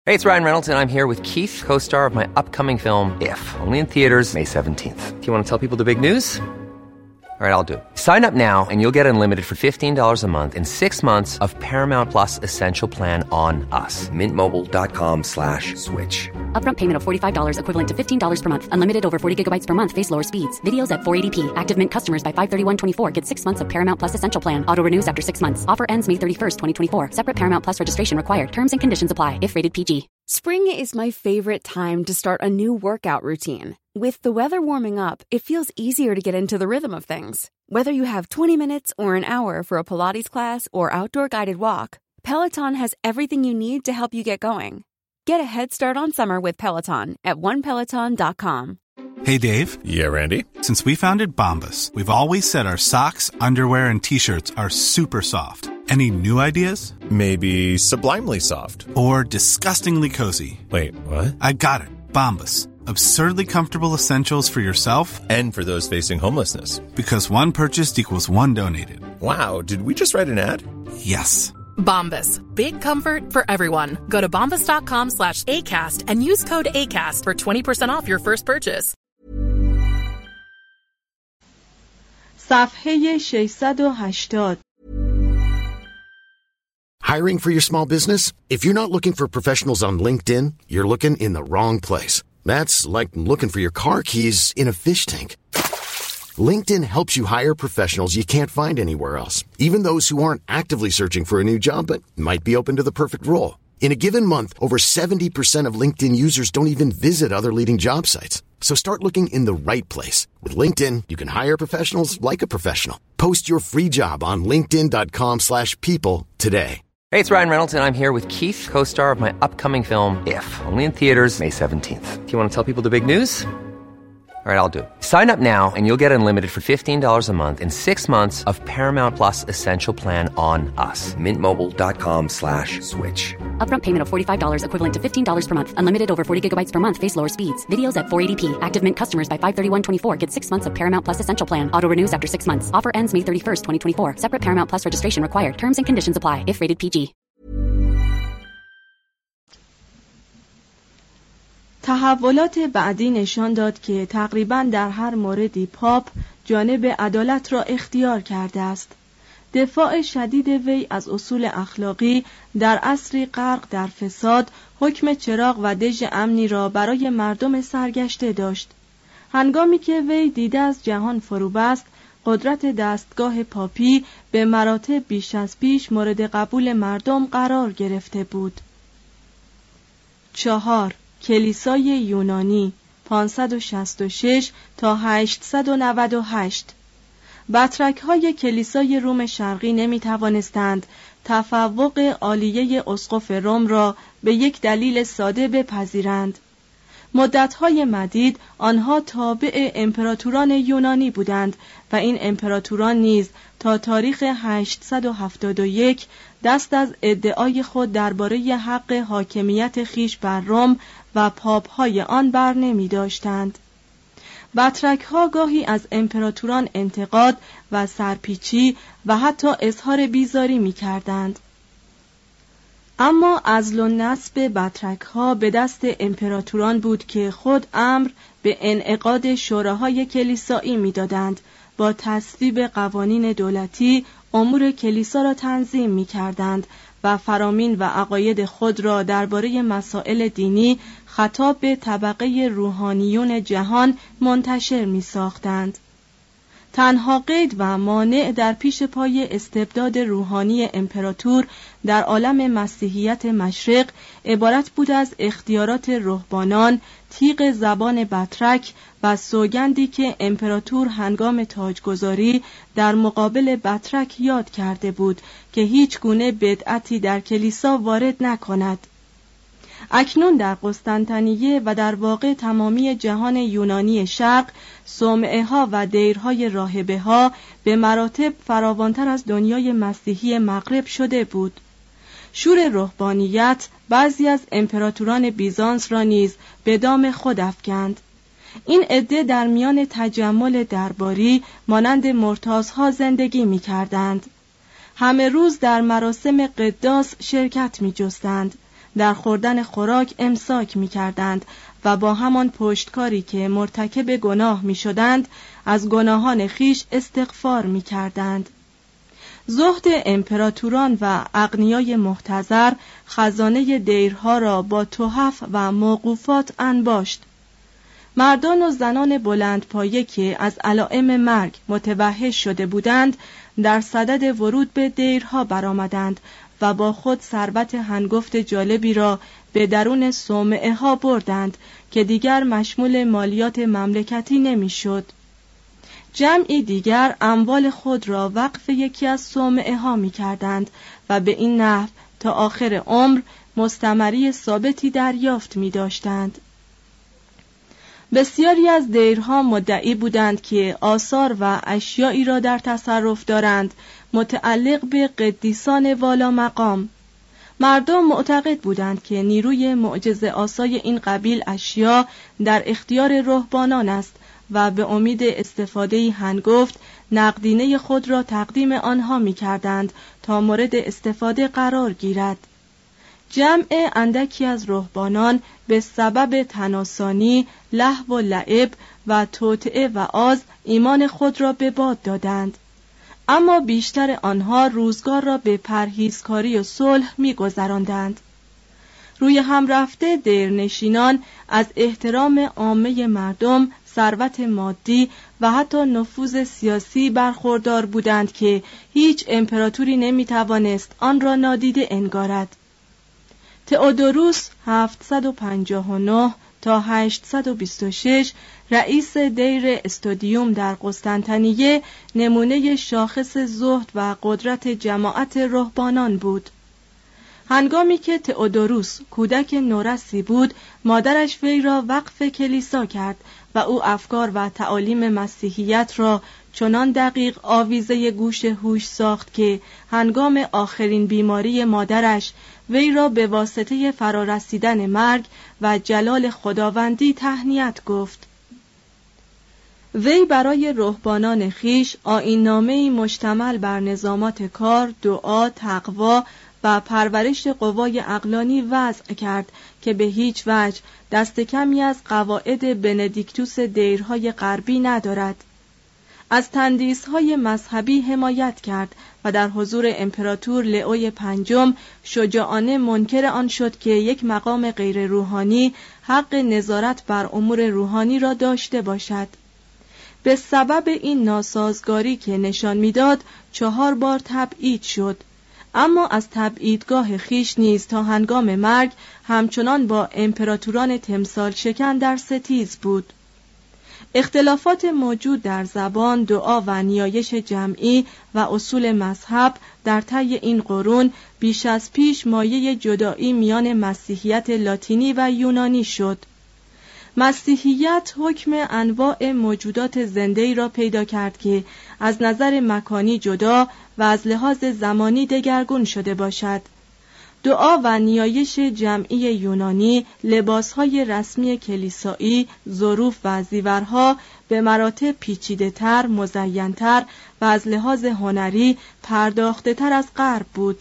Hey, it's Ryan Reynolds, and I'm here with Keith, co-star of my upcoming film, If, only in theaters May 17th. Do you want to tell people the big news? All right, I'll do it. Sign up now and you'll get unlimited for $15 a month and 6 months of Paramount Plus Essential Plan on us. MintMobile.com/switch. Upfront payment of $45 equivalent to $15 per month. Unlimited over 40 gigabytes per month. Face lower speeds. Videos at 480p. Active Mint customers by 531.24 get 6 months of Paramount Plus Essential Plan. Auto renews after 6 months. Offer ends May 31st, 2024. Separate Paramount Plus registration required. Terms and conditions apply if rated PG. Spring is my favorite time to start a new workout routine. With the weather warming up, it feels easier to get into the rhythm of things. Whether you have 20 minutes or an hour for a Pilates class or outdoor guided walk, Peloton has everything you need to help you get going. Get a head start on summer with Peloton at onepeloton.com. Hey, Dave. Yeah, Randy? Since we founded Bombas, we've always said our socks, underwear, and T-shirts are super soft. Any new ideas? Maybe sublimely soft. Or disgustingly cozy. Wait, what? I got it. Bombas. Absurdly comfortable essentials for yourself and for those facing homelessness. Because one purchased equals one donated. Wow, did we just write an ad? Yes. Bombas. Big comfort for everyone. Go to bombas.com/ACAST and use code ACAST for 20% off your first purchase. صفحه 680. Hiring for your small business? If you're not looking for professionals on LinkedIn, you're looking in the wrong place. That's like looking for your car keys in a fish tank. LinkedIn helps you hire professionals you can't find anywhere else, even those who aren't actively searching for a new job but might be open to the perfect role. In a given month, over 70% of LinkedIn users don't even visit other leading job sites. So start looking in the right place. With LinkedIn, you can hire professionals like a professional. Post your free job on linkedin.com/people today. Hey, it's Ryan Reynolds, and I'm here with Keith, co-star of my upcoming film, If, only in theaters May 17th. Do you want to tell people the big news? All right, I'll do it. Sign up now and you'll get unlimited for $15 a month and 6 months of Paramount Plus Essential Plan on us. MintMobile.com/switch. Upfront payment of $45 equivalent to $15 per month. Unlimited over 40 gigabytes per month. Face lower speeds. Videos at 480p. Active Mint customers by 531.24 get 6 months of Paramount Plus Essential Plan. Auto renews after 6 months. Offer ends May 31st, 2024. Separate Paramount Plus registration required. Terms and conditions apply if rated PG. تحولات بعدی نشان داد که تقریباً در هر موردی پاپ جانب عدالت را اختیار کرده است. دفاع شدید وی از اصول اخلاقی در عصری غرق در فساد حکم چراغ و دژ امنی را برای مردم سرگشته داشت. هنگامی که وی دیده از جهان فرو بست، قدرت دستگاه پاپی به مراتب بیش از پیش مورد قبول مردم قرار گرفته بود. 4. کلیسای یونانی 566 تا 898. بطرک‌های کلیسای روم شرقی نمی‌توانستند تفوق عالیه اسقف روم را به یک دلیل ساده بپذیرند. مدت‌های مدید آنها تابع امپراتوران یونانی بودند و این امپراتوران نیز تا تاریخ 871 دست از ادعای خود درباره حق حاکمیت خیش بر روم و پاپ‌های آن بر نمی داشتند. بطرک‌ها گاهی از امپراتوران انتقاد و سرپیچی و حتی اظهار بیزاری می کردند. اما عزل و نصب بطرک‌ها به دست امپراتوران بود که خود امر به انعقاد شوراهای کلیسایی می دادند. با تصویب قوانین دولتی امور کلیسا را تنظیم می کردند و فرامین و عقاید خود را درباره مسائل دینی خطاب به طبقه روحانیون جهان منتشر می ساختند. تنها قید و مانع در پیش پای استبداد روحانی امپراتور در عالم مسیحیت مشرق عبارت بود از اختیارات رهبانان، تیغ زبان بطرک و سوگندی که امپراتور هنگام تاجگذاری در مقابل بطرک یاد کرده بود که هیچ گونه بدعتی در کلیسا وارد نکند. اکنون در قسطنطنیه و در واقع تمامی جهان یونانی شرق صومعه ها و دیرهای راهبه ها به مراتب فراوانتر از دنیای مسیحی مغرب شده بود. شور رهبانیت بعضی از امپراتوران بیزانس را نیز به دام خود افکند. این عده در میان تجمل درباری مانند مرتاضها زندگی می کردند. همه روز در مراسم قداس شرکت می جستند در خوردن خوراک امساک می کردند و با همان پشتکاری که مرتکب گناه می شدند از گناهان خیش استغفار می کردند. زهد امپراتوران و اغنیای محتضر خزانه دیرها را با تحف و موقوفات انباشت. مردان و زنان بلندپایه که از علائم مرگ متوحش شده بودند در صدد ورود به دیرها برآمدند و با خود ثروت هنگفت جالبی را به درون صومعه ها بردند که دیگر مشمول مالیات مملکتی نمی‌شد. جمعی دیگر اموال خود را وقف یکی از صومعه ها می کردند و به این نحو تا آخر عمر مستمری ثابتی دریافت می داشتند. بسیاری از دیرها مدعی بودند که آثار و اشیایی را در تصرف دارند متعلق به قدیسان والا مقام. مردم معتقد بودند که نیروی معجزه آسای این قبیل اشیا در اختیار رهبانان است و به امید استفاده هنگفت نقدینه خود را تقدیم آنها می کردند تا مورد استفاده قرار گیرد. جمع اندکی از رهبانان به سبب تناسانی، لهو و لعب و توطئه و آز ایمان خود را به باد دادند، اما بیشتر آنها روزگار را به پرهیزکاری و صلح می گذراندند. روی هم رفته دیرنشینان از احترام عامه مردم، ثروت مادی و حتی نفوذ سیاسی برخوردار بودند که هیچ امپراتوری نمیتوانست آن را نادیده انگارد. تئودوروس 759 تا 826 رئیس دیر استودیوم در قسطنطنیه نمونه شاخص زهد و قدرت جماعت رهبانان بود. هنگامی که تئودوروس کودک نورسی بود، مادرش وی را وقف کلیسا کرد و او افکار و تعالیم مسیحیت را چنان دقیق آویزه گوش هوش ساخت که هنگام آخرین بیماری مادرش وی را به واسطه فرارسیدن مرگ و جلال خداوندی تهنیت گفت. وی برای رهبانان خیش آیین‌نامه‌ای مشتمل بر نظامات کار، دعا، تقوا و پرورش قوای عقلانی وضع کرد که به هیچ وجه دست کمی از قواعد بندیکتوس دیرهای غربی ندارد. از تندیس‌های مذهبی حمایت کرد و در حضور امپراتور لئوی پنجم شجاعانه منکر آن شد که یک مقام غیر روحانی حق نظارت بر امور روحانی را داشته باشد. به سبب این ناسازگاری که نشان می‌داد 4 بار تبعید شد، اما از تبعیدگاه خیش نیز تا هنگام مرگ همچنان با امپراتوران تمثال شکن در ستیز بود. اختلافات موجود در زبان، دعا و نیایش جمعی و اصول مذهب در طی این قرون بیش از پیش مایه جدایی میان مسیحیت لاتینی و یونانی شد. مسیحیت حکم انواع موجودات زنده‌ای را پیدا کرد که از نظر مکانی جدا و از لحاظ زمانی دگرگون شده باشد. دعا و نیایش جمعی یونانی، لباسهای رسمی کلیسایی، ظروف و زیورها به مراتب پیچیده‌تر، مزین‌تر و از لحاظ هنری پرداخته‌تر از غرب بود.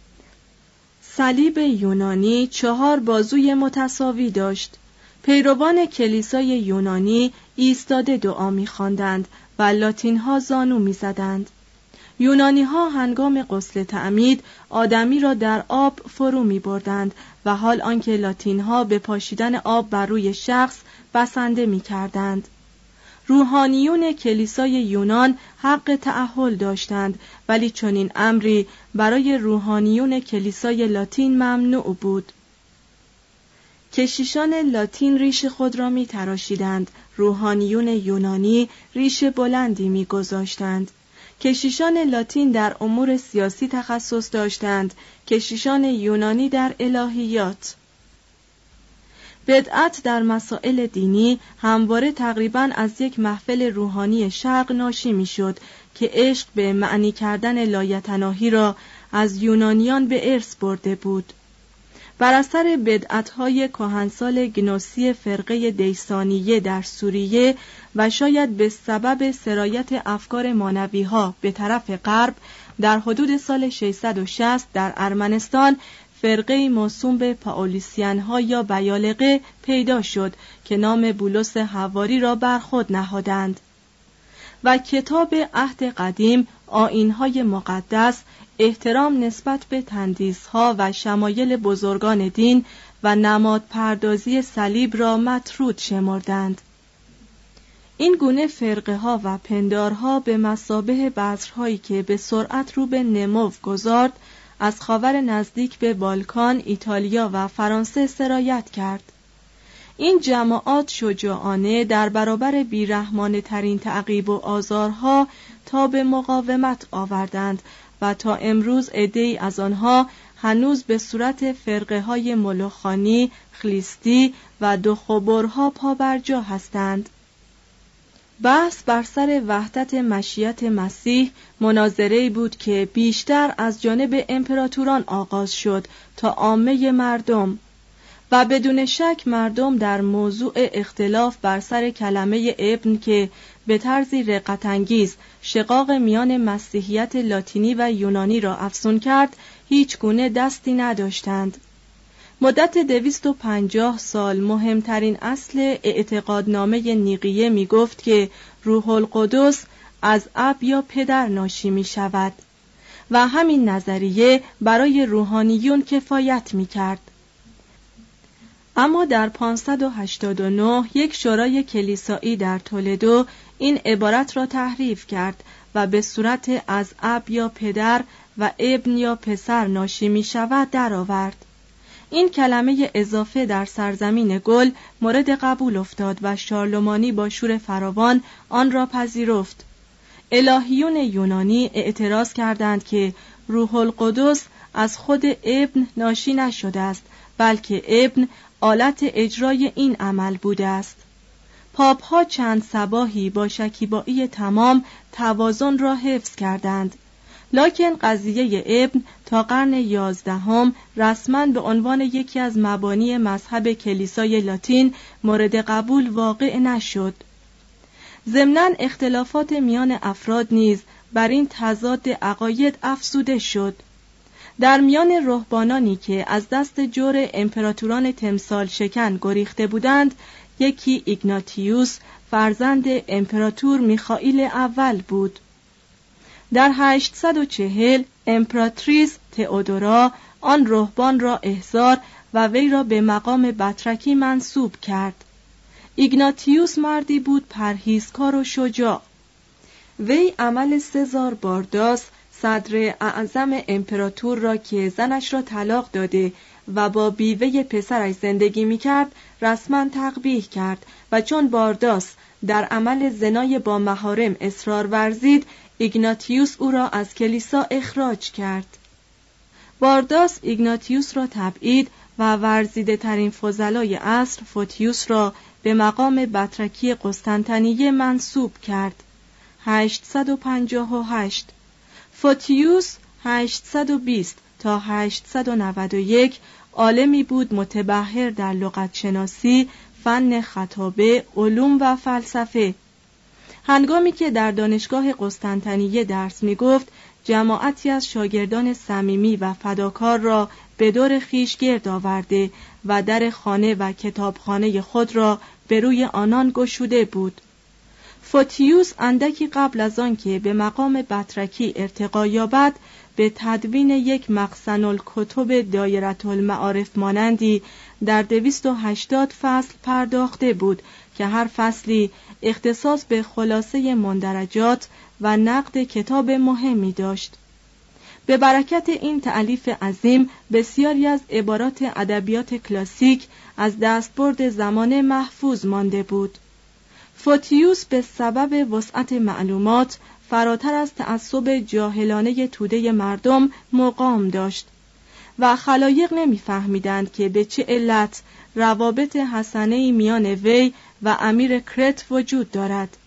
صلیب یونانی 4 بازوی متساوی داشت. پیروان کلیسای یونانی ایستاده دعا می‌خواندند و لاتین‌ها زانو می‌زدند. یونانی‌ها هنگام غسل تعمید آدمی را در آب فرو می‌بردند و حال آنکه لاتین‌ها به پاشیدن آب بر روی شخص بسنده می‌کردند. روحانیون کلیسای یونان حق تأهل داشتند، ولی چنین امری برای روحانیون کلیسای لاتین ممنوع بود. کشیشان لاتین ریش خود را می‌تراشیدند، روحانیون یونانی ریش بلندی می‌گذاشتند. کشیشان لاتین در امور سیاسی تخصص داشتند، کشیشان یونانی در الهیات. بدعت در مسائل دینی همواره تقریباً از یک محفل روحانی شرق ناشی می‌شد که عشق به معنی کردن لایتناهی را از یونانیان به ارث برده بود. بر اثر بدعت‌های کهنسال گنوسی فرقه دیسانیه در سوریه و شاید به سبب سرایت افکار مانوی‌ها به طرف غرب در حدود سال 660 در ارمنستان فرقه موسوم به پائولیسیان‌ها یا بیالقه پیدا شد که نام بولس حواری را بر خود نهادند و کتاب عهد قدیم، آیین‌های مقدس، احترام نسبت به تندیس‌ها و شمایل بزرگان دین و نماد پردازی صلیب را مطرود شمردند. این گونه فرقه ها و پندارها به مثابه بذرهایی که به سرعت رو به نمو گذارد از خاور نزدیک به بالکان، ایتالیا و فرانسه سرایت کرد. این جماعات شجاعانه در برابر بیرحمانه ترین تعقیب و آزارها تا به مقاومت آوردند و تا امروز عده‌ای از آنها هنوز به صورت فرقه های ملوخانی، خلیستی و دخوبرها پابرجا هستند. بحث بر سر وحدت مشیت مسیح مناظره‌ای بود که بیشتر از جانب امپراتوران آغاز شد تا عامه مردم و بدون شک مردم در موضوع اختلاف بر سر کلمه ابن که به طرزی رقت‌انگیز شقاق میان مسیحیت لاتینی و یونانی را افزون کرد هیچ گونه دستی نداشتند. مدت 250 سال مهمترین اصل اعتقادنامه نیقیه می گفت که روح القدس از اب یا پدر ناشی می شود و همین نظریه برای روحانیون کفایت می کرد. اما در 589 یک شورای کلیسایی در تولدو این عبارت را تحریف کرد و به صورت از اب یا پدر و ابن یا پسر ناشی می شود درآورد. این کلمه اضافه در سرزمین گل مورد قبول افتاد و شارلمانی با شور فراوان آن را پذیرفت. الهیون یونانی اعتراض کردند که روح القدس از خود ابن ناشی نشده است، بلکه ابن آلت اجرای این عمل بوده است. پاپ‌ها چند صباحی با شکیبایی تمام توازن را حفظ کردند، لکن قضیه ابن تا قرن 11 رسما به عنوان یکی از مبانی مذهب کلیسای لاتین مورد قبول واقع نشد. ضمناً اختلافات میان افراد نیز بر این تضاد عقاید افزوده شد. در میان رهبانانی که از دست جور امپراتوران تمثال شکن گریخته بودند، یکی ایگناتیوس فرزند امپراتور میخائیل اول بود. در 840 امپراتریس تئودورا آن رهبان را احضار و وی را به مقام بطرکی منصوب کرد. ایگناتیوس مردی بود پرهیزکار و شجاع. وی عمل سزار بارداس صدر اعظم امپراتور را که زنش را طلاق داده و با بیوه پسرش زندگی می‌کرد رسما تقبیح کرد و چون بارداس در عمل زنای با محارم اصرار ورزید، ایگناتیوس او را از کلیسا اخراج کرد. بارداس ایگناتیوس را تبعید و ورزیده ترین فضلای عصر فوتیوس را به مقام بطرکی قسطنطنیه منصوب کرد. 858 فوتیوس 820 تا 891 عالمی بود متبحر در لغتشناسی، فن خطابه، علوم و فلسفه. هنگامی که در دانشگاه قسطنطنیه درس می گفت، جماعتی از شاگردان صمیمی و فداکار را به دور خویش گرد آورده و در خانه و کتابخانه خود را به روی آنان گشوده بود. فوتیوس اندکی قبل از آن که به مقام بطرکی ارتقا یابد، به تدوین یک مخزن الکتب دایره المعارف مانندی در 280 فصل پرداخته بود که هر فصلی اختصاص به خلاصه مندرجات و نقد کتاب مهمی داشت. به برکت این تألیف عظیم بسیاری از عبارات ادبیات کلاسیک از دستبرد زمانه محفوظ مانده بود. فوتیوس به سبب وسعت معلومات فراتر از تعصب جاهلانه توده مردم مقام داشت و خلایق نمی‌فهمیدند که به چه علت روابط حسنه‌ای میان وی و امیر کرت وجود دارد.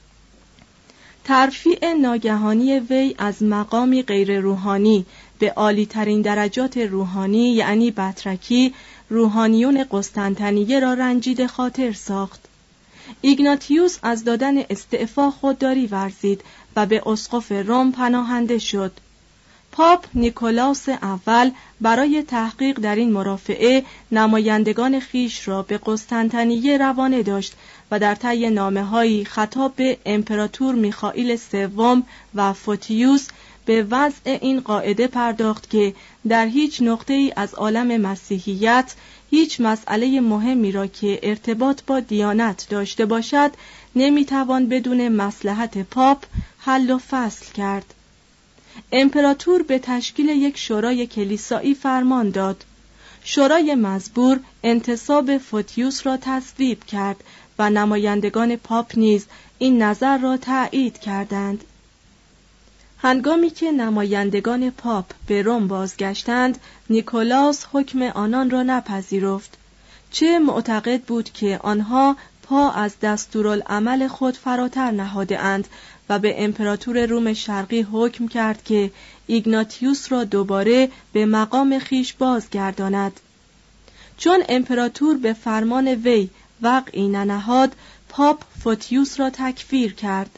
ترفیع ناگهانی وی از مقامی غیر روحانی به عالی ترین درجات روحانی یعنی بطرکی، روحانیون قسطنطنیه را رنجیده خاطر ساخت. ایگناتیوس از دادن استعفا خودداری ورزید و به اسقف روم پناهنده شد. پاپ نیکولاس اول برای تحقیق در این مرافعه نمایندگان خیش را به قسطنطنیه روانه داشت و در طی نامه‌هایی خطاب به امپراتور میخائیل سوم و فوتیوس به وضع این قاعده پرداخت که در هیچ نقطه‌ای از عالم مسیحیت هیچ مسئله مهمی را که ارتباط با دیانت داشته باشد نمیتوان بدون مصلحت پاپ حل و فصل کرد. امپراتور به تشکیل یک شورای کلیسایی فرمان داد. شورای مزبور انتصاب فوتیوس را تصویب کرد و نمایندگان پاپ نیز این نظر را تأیید کردند. هنگامی که نمایندگان پاپ به روم بازگشتند، نیکولاس حکم آنان را نپذیرفت. چه معتقد بود که آنها پا از دستورالعمل خود فراتر نهاده اند و به امپراتور روم شرقی حکم کرد که ایگناتیوس را دوباره به مقام خیش بازگرداند. چون امپراتور به فرمان وی وقعی ننهاد، پاپ فوتیوس را تکفیر کرد.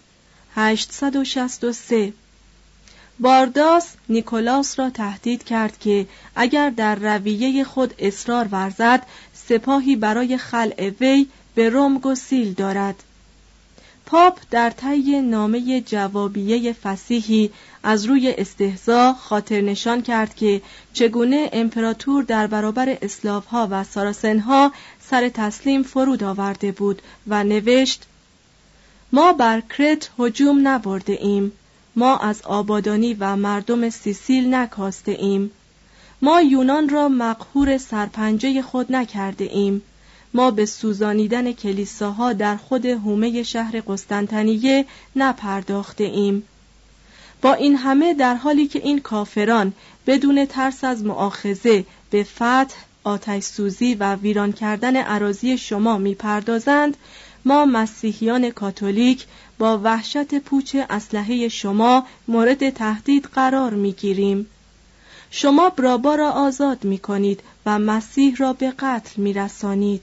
863 بارداس نیکولاس را تهدید کرد که اگر در رویه خود اصرار ورزد سپاهی برای خلع وی به روم گسیل دارد. پاپ در طی نامه جوابیه فصیحی از روی استهزا خاطر نشان کرد که چگونه امپراتور در برابر اسلاف‌ها و ساراسن‌ها سر تسلیم فرود آورده بود و نوشت: ما بر کرت هجوم نبرده ایم، ما از آبادانی و مردم سیسیل نکاسته ایم، ما یونان را مقهور سرپنجه خود نکرده ایم، ما به سوزانیدن کلیساها در خود حومه شهر قسطنطنیه نپرداخته ایم. با این همه در حالی که این کافران بدون ترس از مؤاخذه به فتح، آتش سوزی و ویران کردن اراضی شما میپردازند، ما مسیحیان کاتولیک با وحشت پوچ اسلحه شما مورد تهدید قرار میگیریم. شما برابا را آزاد میکنید و مسیح را به قتل میرسانید.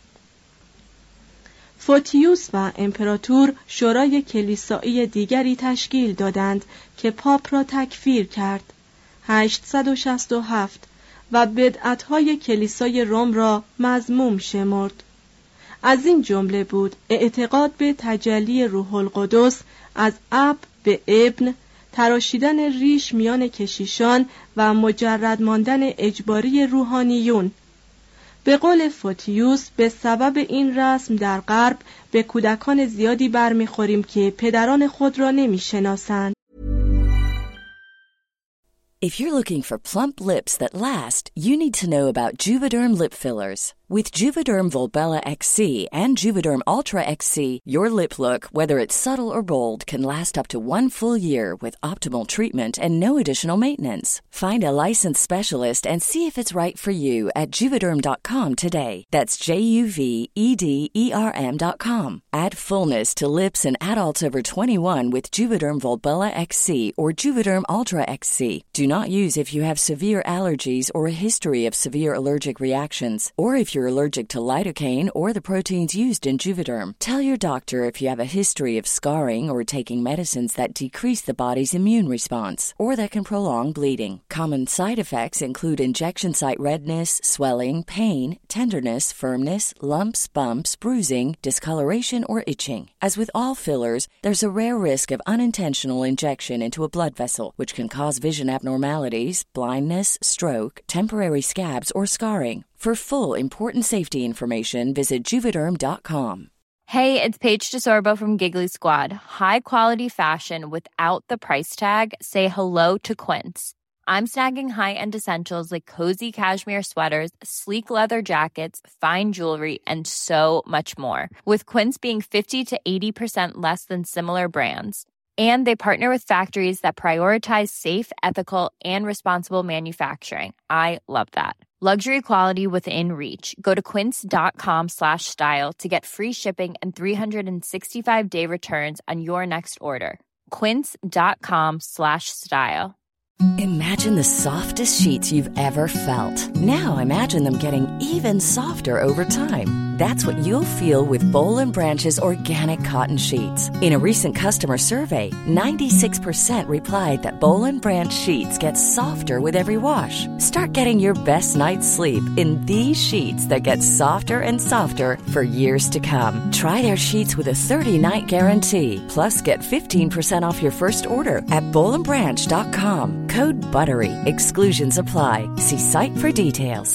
فوتیوس و امپراتور شورای کلیسایی دیگری تشکیل دادند که پاپ را تکفیر کرد. 867 و بدعت‌های کلیسای روم را مذموم شمرد. از این جمله بود اعتقاد به تجلی روح القدس از اب به ابن، تراشیدن ریش میان کشیشان و مجرد ماندن اجباری روحانیون. به قول فوتیوس به سبب این رسم در غرب به کودکان زیادی برمیخوریم که پدران خود را نمیشناسند. If you're looking for plump lips that last, you need to know about Juvederm lip fillers. With Juvederm Volbella XC and Juvederm Ultra XC, your lip look, whether it's subtle or bold, can last up to 1 full year with optimal treatment and no additional maintenance. Find a licensed specialist and see if it's right for you at Juvederm.com today. That's JUVEDERM.com. Add fullness to lips in adults over 21 with Juvederm Volbella XC or Juvederm Ultra XC. Do not use if you have severe allergies or a history of severe allergic reactions, or if you're allergic to lidocaine or the proteins used in Juvederm. Tell your doctor if you have a history of scarring or taking medicines that decrease the body's immune response or that can prolong bleeding. Common side effects include injection site redness, swelling, pain, tenderness, firmness, lumps, bumps, bruising, discoloration, or itching. As with all fillers, there's a rare risk of unintentional injection into a blood vessel, which can cause vision abnormalities, blindness, stroke, temporary scabs, or scarring. For full important safety information, visit Juvederm.com. Hey, it's Paige DeSorbo from Giggly Squad. High quality fashion without the price tag. Say hello to Quince. I'm snagging high-end essentials like cozy cashmere sweaters, sleek leather jackets, fine jewelry, and so much more. With Quince being 50 to 80% less than similar brands. And they partner with factories that prioritize safe, ethical, and responsible manufacturing. I love that. Luxury quality within reach. Go to quince.com/style to get free shipping and 365-day returns on your next order. Quince.com/style. Imagine the softest sheets you've ever felt. Now imagine them getting even softer over time. That's what you'll feel with Boll & Branch's organic cotton sheets. In a recent customer survey, 96% replied that Boll & Branch sheets get softer with every wash. Start getting your best night's sleep in these sheets that get softer and softer for years to come. Try their sheets with a 30-night guarantee. Plus, get 15% off your first order at bollandbranch.com. Code BUTTERY. Exclusions apply. See site for details.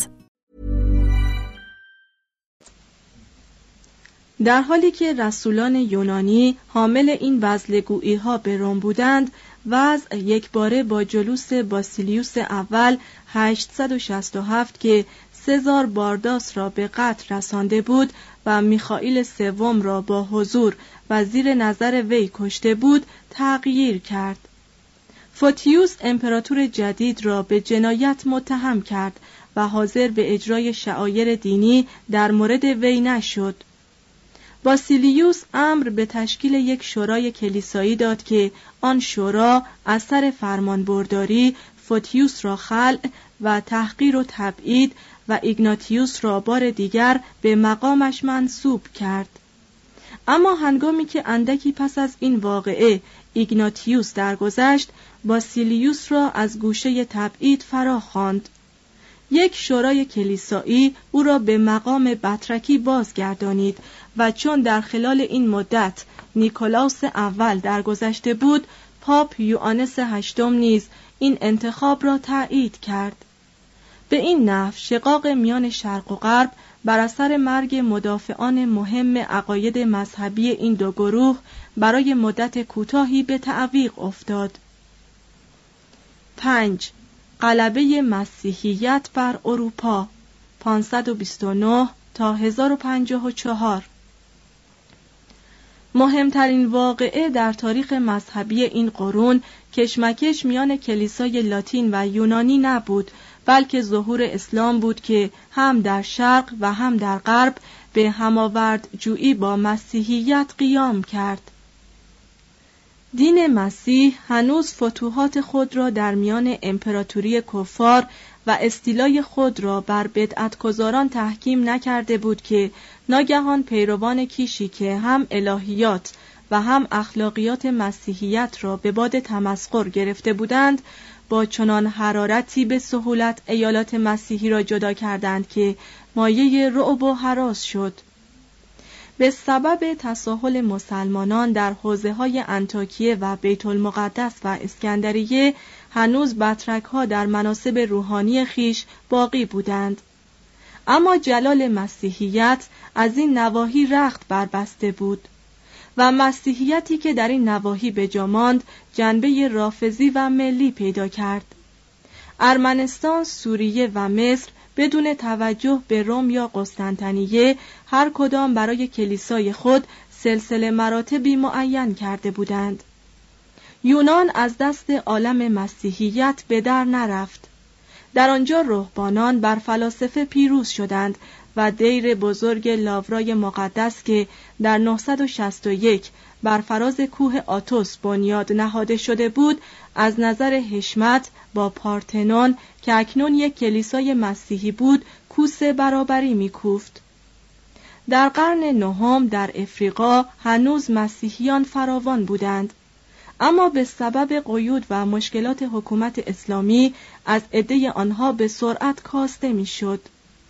در حالی که رسولان یونانی حامل این وزلگویی‌ها به روم بودند، وضع یکباره با جلوس باسیلیوس اول 867 که سزار بارداس را به قتل رسانده بود و میخائیل سوم را با حضور و زیر نظر وی کشته بود تغییر کرد. فوتیوس امپراتور جدید را به جنایت متهم کرد و حاضر به اجرای شعائر دینی در مورد وی نشد. باسیلیوس امر به تشکیل یک شورای کلیسایی داد که آن شورا از سر فرمانبرداری فوتیوس را خلع و تحقیر و تبعید و ایگناتیوس را بار دیگر به مقامش منصوب کرد. اما هنگامی که اندکی پس از این واقعه ایگناتیوس درگذشت، باسیلیوس را از گوشه تبعید فرا خواند. یک شورای کلیسایی او را به مقام بطرکی بازگردانید و چون در خلال این مدت نیکولاس اول درگذشته بود، پاپ یوانس هشتم نیز این انتخاب را تایید کرد. به این نحو شقاق میان شرق و غرب بر اثر مرگ مدافعان مهم عقاید مذهبی این دو گروه برای مدت کوتاهی به تعویق افتاد. 5. غلبه مسیحیت بر اروپا 529 تا 1054. مهمترین واقعه در تاریخ مذهبی این قرون کشمکش میان کلیسای لاتین و یونانی نبود، بلکه ظهور اسلام بود که هم در شرق و هم در غرب به هماورد جویی با مسیحیت قیام کرد. دین مسیح هنوز فتوحات خود را در میان امپراتوری کفار و استیلای خود را بر بدعتگزاران تحکیم نکرده بود که ناگهان پیروان کیشی که هم الهیات و هم اخلاقیات مسیحیت را به باد تمسخر گرفته بودند، با چنان حرارتی به سهولت ایالات مسیحی را جدا کردند که مایه رعب و هراس شد. به سبب تساهل مسلمانان در حوزه‌های انطاکیه و بیت المقدس و اسکندریه، هنوز بطرک‌ها در مناصب روحانی خیش باقی بودند. اما جلال مسیحیت از این نواحی رخت بربسته بود و مسیحیتی که در این نواحی به جا ماند جنبه رافضی و ملی پیدا کرد. ارمنستان، سوریه و مصر بدون توجه به روم یا قسطنطنیه هر کدام برای کلیسای خود سلسله مراتبی معین کرده بودند. یونان از دست عالم مسیحیت به در نرفت. در آنجا رهبانان بر فلاسفه پیروز شدند و دیر بزرگ لاورای مقدس که در 961 بر فراز کوه آتوس بنیاد نهاده شده بود، از نظر حشمت با پارتنون که اکنون یک کلیسای مسیحی بود کوس برابری می‌کوفت. در قرن نهم در افریقا هنوز مسیحیان فراوان بودند، اما به سبب قیود و مشکلات حکومت اسلامی از عده آنها به سرعت کاسته می‌شد.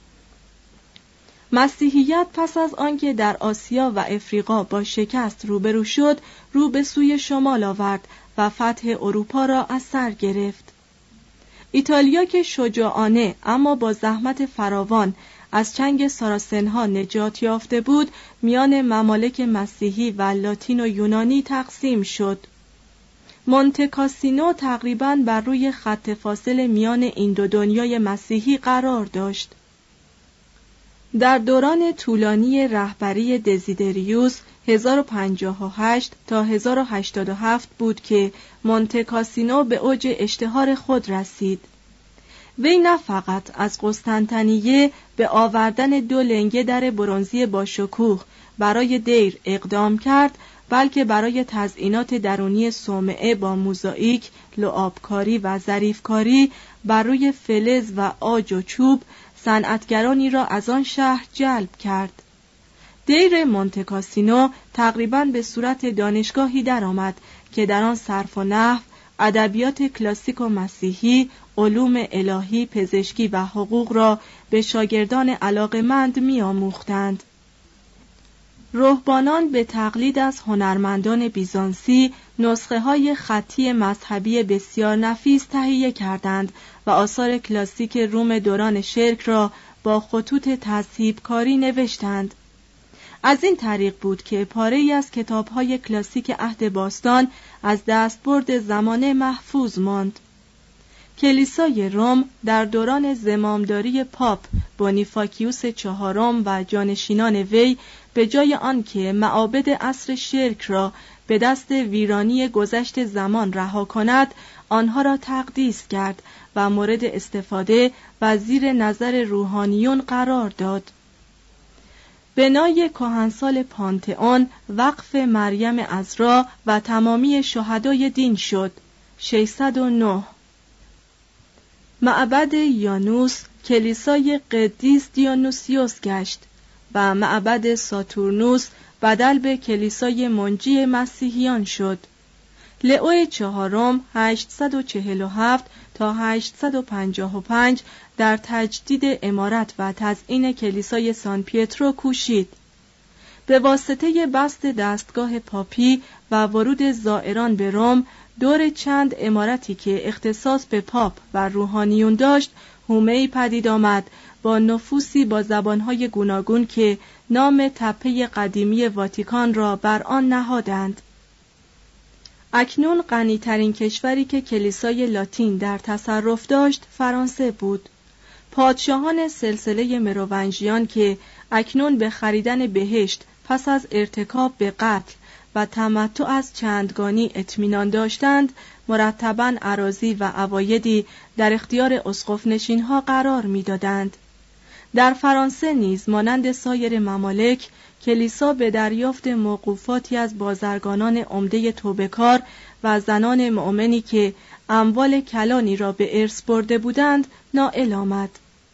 مسیحیت پس از آنکه در آسیا و افریقا با شکست روبرو شد، رو به سوی شمال آورد و فتح اروپا را از سر گرفت. ایتالیا که شجاعانه اما با زحمت فراوان از چنگ ساراسنها نجات یافته بود، میان ممالک مسیحی و لاتین و یونانی تقسیم شد. مونته کاسینو تقریباً بر روی خط فاصل میان این دو دنیای مسیحی قرار داشت. در دوران طولانی رهبری دزیدریوس 1058 تا 1087 بود که مونته کاسینو به اوج اشتهار خود رسید. وی نه فقط از قسطنطنیه به آوردن 2 لنگه در برنزی با شکوه برای دیر اقدام کرد، بلکه برای تزئینات درونی صومعه با موزاییک، لعابکاری و ظریفکاری بر روی فلز و عاج و چوب صنعتگرانی را از آن شهر جلب کرد. دیر مونتکاسینو تقریباً به صورت دانشگاهی درآمد که در آن صرف و نحو، ادبیات کلاسیک و مسیحی، علوم الهی، پزشکی و حقوق را به شاگردان علاقه‌مند می‌آموختند. رهبانان به تقلید از هنرمندان بیزانسی نسخه‌های خطی مذهبی بسیار نفیس تهیه کردند و آثار کلاسیک روم دوران شرک را با خطوط تذهیب‌کاری نوشتند. از این طریق بود که پاره‌ای از کتاب‌های کلاسیک عهد باستان از دستبرد زمانه محفوظ ماند. کلیسای روم در دوران زمامداری پاپ بونیفاکیوس چهارم و جانشینان وی به جای آنکه معابد عصر شرک را به دست ویرانی گذشت زمان رها کند، آنها را تقدیس کرد و مورد استفاده و زیر نظر روحانیون قرار داد. بنای کهنسال پانتئون وقف مریم عذرا و تمامی شهدای دین شد. 609 معبد یانوس کلیسای قدیس دیونوسیوس گشت و معبد ساتورنوس بدل به کلیسای منجی مسیحیان شد. لئو چهارم 847 تا 855 در تجدید عمارت و تزیین کلیسای سان پیترو کوشید. به واسطه بسط دستگاه پاپی و ورود زائران به روم، دور چند عمارتی که اختصاص به پاپ و روحانیون داشت، حومه‌ای پدید آمد با نفوسی با زبانهای گوناگون که نام تپه قدیمی واتیکان را بر آن نهادند. اکنون غنی‌ترین کشوری که کلیسای لاتین در تصرف داشت فرانسه بود. پادشاهان سلسله مروونژیان که اکنون به خریدن بهشت پس از ارتکاب به قتل و تمتع از چندگانی اطمینان داشتند، مرتباً اراضی و عوایدی در اختیار اسقف نشین‌ها قرار می‌دادند. در فرانسه نیز مانند سایر ممالک، کلیسا به دریافت موقوفاتی از بازرگانان عمده توبه‌کار و زنان مؤمنی که اموال کلانی را به ارث برده بودند نائل آمد.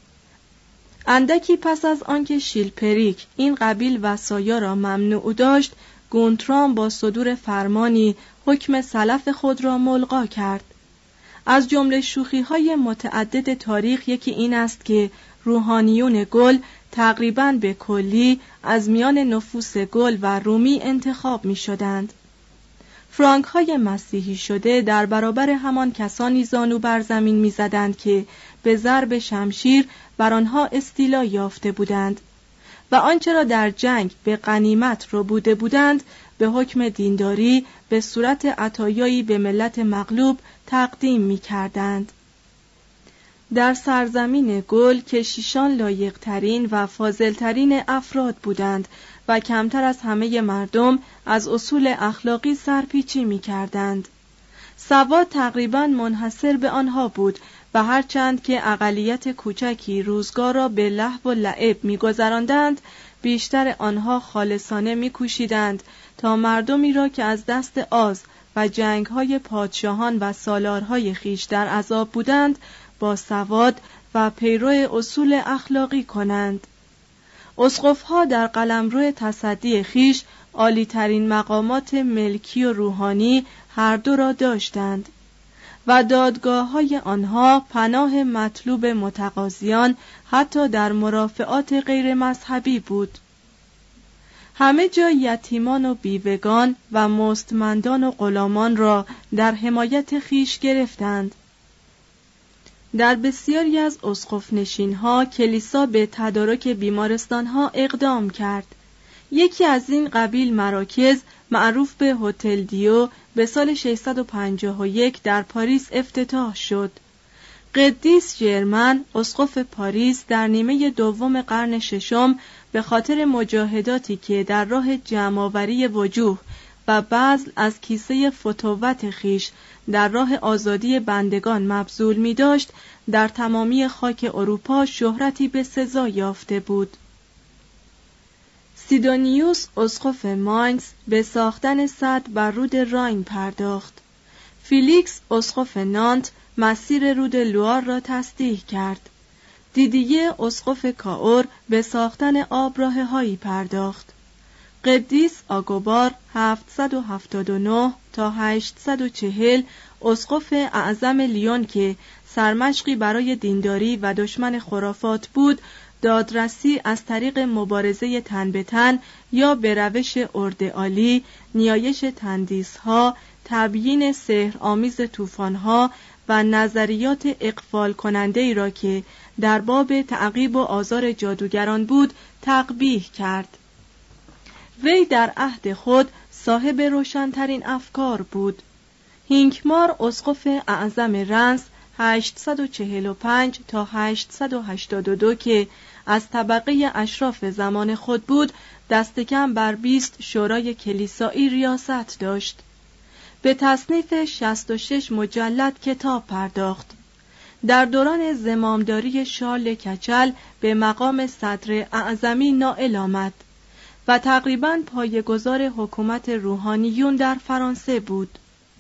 اندکی پس از آنکه شیلپریک این قبیل وصایا را ممنوع داشت، گونترام با صدور فرمانی حکم سلف خود را ملغا کرد. از جمله شوخی‌های متعدد تاریخ یکی این است که روحانیون گل تقریباً به کلی از میان نفوس گل و رومی انتخاب می شدند. فرانک های مسیحی شده در برابر همان کسانی زانو بر زمین می زدند که به ضرب شمشیر بر آنها استیلا یافته بودند و آنچه را در جنگ به غنیمت ربوده بودند به حکم دینداری به صورت عطایایی به ملت مغلوب تقدیم می کردند. در سرزمین گل کشیشان لایق‌ترین و فاضل‌ترین افراد بودند و کمتر از همه مردم از اصول اخلاقی سرپیچی می‌کردند. سواد تقریباً منحصر به آنها بود و هرچند که اقلیت کوچکی روزگار را به لهو و لعب می‌گذراندند، بیشتر آنها خالصانه می‌کوشیدند تا مردمی را که از دست آز و جنگ‌های پادشاهان و سالارهای خویش در عذاب بودند با سواد و پیرو اصول اخلاقی کنند. اسقف‌ها در قلمرو تصدی خویش عالی‌ترین مقامات ملکی و روحانی هر دو را داشتند و دادگاه‌های آنها پناه مطلوب متقاضیان حتی در مرافعات غیر مذهبی بود. همه جا یتیمان و بیوگان و مستمندان و غلامان را در حمایت خویش گرفتند. در بسیاری از اسقف نشین‌ها کلیسا به تدارک بیمارستان‌ها اقدام کرد. یکی از این قبیل مراکز معروف به هتل دیو به سال 651 در پاریس افتتاح شد. قدیس ژرمن اسقف پاریس در نیمه دوم قرن ششم به خاطر مجاهداتی که در راه جمع‌آوری وجوه و بذل از کیسه فتوت خیش در راه آزادی بندگان مبذول می داشت، در تمامی خاک اروپا شهرتی به سزا یافته بود. سیدونیوس اسقف ماینز به ساختن سد بر رود راین پرداخت. فیلیکس اسقف نانت مسیر رود لوار را تصدیح کرد. دیدیه اسقف کائور به ساختن آبراهه‌هایی پرداخت. قدیس آگوبار 779 تا 840 اسقف اعظم لیون که سرمشقی برای دینداری و دشمن خرافات بود، دادرسی از طریق مبارزه تن به تن یا به روش اردعالی، نیایش تندیس‌ها، تبیین سحرآمیز طوفان‌ها و نظریات اغفال کننده ای را که در باب تعقیب و آزار جادوگران بود تقبیح کرد. وی در عهد خود صاحب روشن‌ترین افکار بود. هینکمار اسقف اعظم رنس 845 تا 882 که از طبقه اشراف زمان خود بود، دست کم بر 20 شورای کلیسایی ریاست داشت. به تصنیف 66 مجلد کتاب پرداخت. در دوران زمامداری شارل کچل به مقام صدر اعظمی نائل آمد و تقریباً پایه‌گذار حکومت روحانیون در فرانسه بود.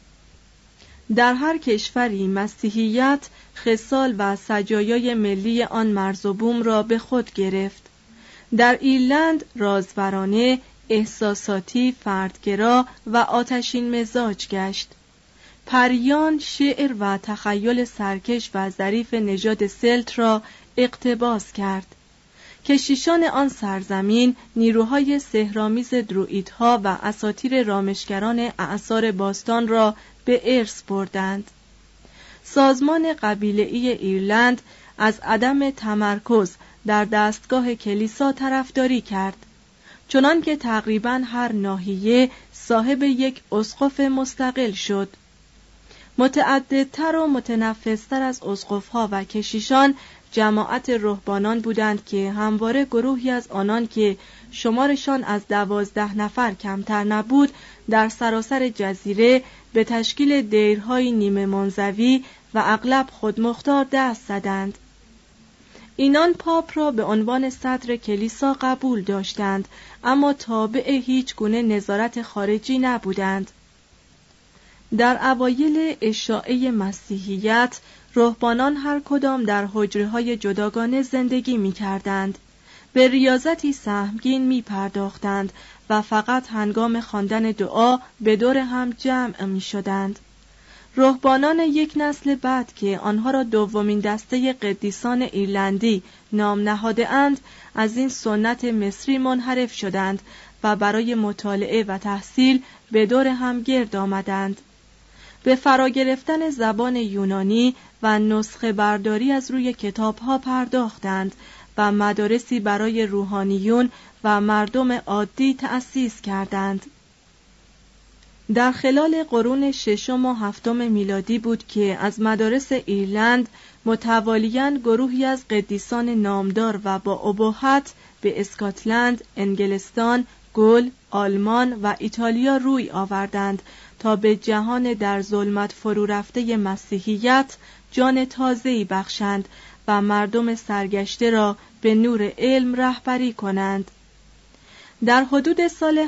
در هر کشوری مسیحیت خصال و سجایای ملی آن مرز و بوم را به خود گرفت. در ایرلند رازورانه، احساساتی، فردگرا و آتشین مزاج گشت. پریان، شعر و تخیل سرکش و ظریف نژاد سلت را اقتباس کرد. کشیشان آن سرزمین نیروهای سحرآمیز دروئیدها و اساطیر رامشگران اعصار باستان را به ارث بردند. سازمان قبیله‌ای ایرلند از عدم تمرکز در دستگاه کلیسا طرفداری کرد، چنان که تقریباً هر ناحیه صاحب یک اسقف مستقل شد. متعددتر و متنفذتر از اسقف‌ها و کشیشان جماعت رهبانان بودند که همواره گروهی از آنان که شمارشان از 12 نفر کمتر نبود در سراسر جزیره به تشکیل دیرهای نیمه منزوی و اغلب خودمختار دست زدند. اینان پاپ را به عنوان صدر کلیسا قبول داشتند، اما تابع هیچ گونه نظارت خارجی نبودند. در اوایل اشاعه مسیحیت، رهبانان هر کدام در حجره‌های جداگانه زندگی می‌کردند. به ریاضتی سهمگین می‌پرداختند و فقط هنگام خواندن دعا به دور هم جمع می‌شدند. رهبانان یک نسل بعد که آنها را دومین دسته قدیسان ایرلندی نام نهاده‌اند، از این سنت مصری منحرف شدند و برای مطالعه و تحصیل به دور هم گرد آمدند. به فرا گرفتن زبان یونانی و نسخه برداری از روی کتاب‌ها پرداختند و مدارسی برای روحانیون و مردم عادی تأسیس کردند. در خلال قرون ششم و هفتم میلادی بود که از مدارس ایرلند متوالیاً گروهی از قدیسان نامدار و با ابهت به اسکاتلند، انگلستان، گل، آلمان و ایتالیا روی آوردند تا به جهان در ظلمت فرو رفته مسیحیت جان تازه‌ای بخشند و مردم سرگشته را به نور علم رهبری کنند. در حدود سال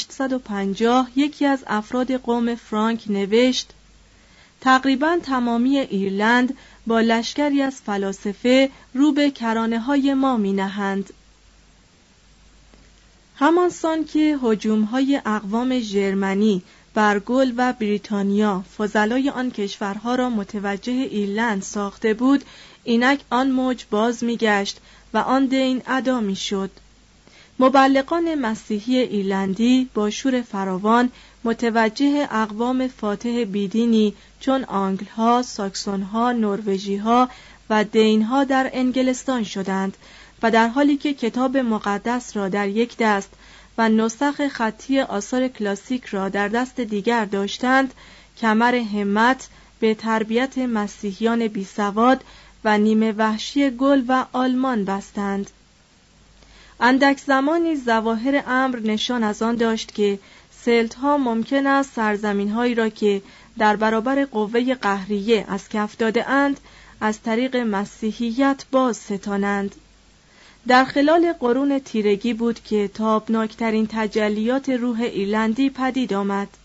850 یکی از افراد قوم فرانک نوشت: تقریباً تمامی ایرلند با لشکری از فلاسفه رو به کرانه‌های ما می‌نهند. همانسان که هجوم‌های اقوام ژرمنی بر گل و بریتانیا فضلای آن کشورها را متوجه ایرلند ساخته بود، اینک آن موج باز می‌گشت و آن دین ادا می‌شد. مبلغان مسیحی ایرلندی با شور فراوان متوجه اقوام فاتح بیدینی چون آنگل‌ها، ساکسون‌ها، نروژی‌ها و دین‌ها در انگلستان شدند و در حالی که کتاب مقدس را در یک دست و نسخ خطی آثار کلاسیک را در دست دیگر داشتند، کمر همت به تربیت مسیحیان بیسواد و نیمه وحشی گل و آلمان بستند. اندک زمانی ظواهر امر نشان از آن داشت که سلت‌ها ممکن است سرزمین‌هایی را که در برابر قوه قهریه از کف داده‌اند از طریق مسیحیت باز ستانند. در خلال قرون تیرگی بود که تابناکترین تجلیات روح ایرلندی پدید آمد.